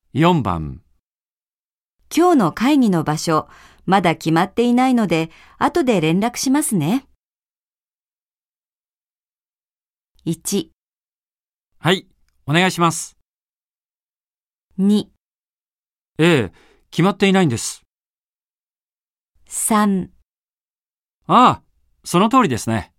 4番。 今日の会議の場所、まだ決まっていないので、後で連絡しますね。1、 はい、お願いします。 2、 ええ、決まっていないんです。 3 ああ、その通りですね。